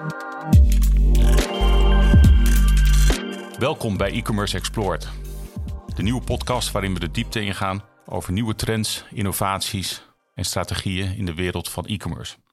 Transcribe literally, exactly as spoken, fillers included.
Welkom bij E-Commerce Explored, de nieuwe podcast waarin we de diepte ingaan over nieuwe trends, innovaties en strategieën in de wereld van e-commerce.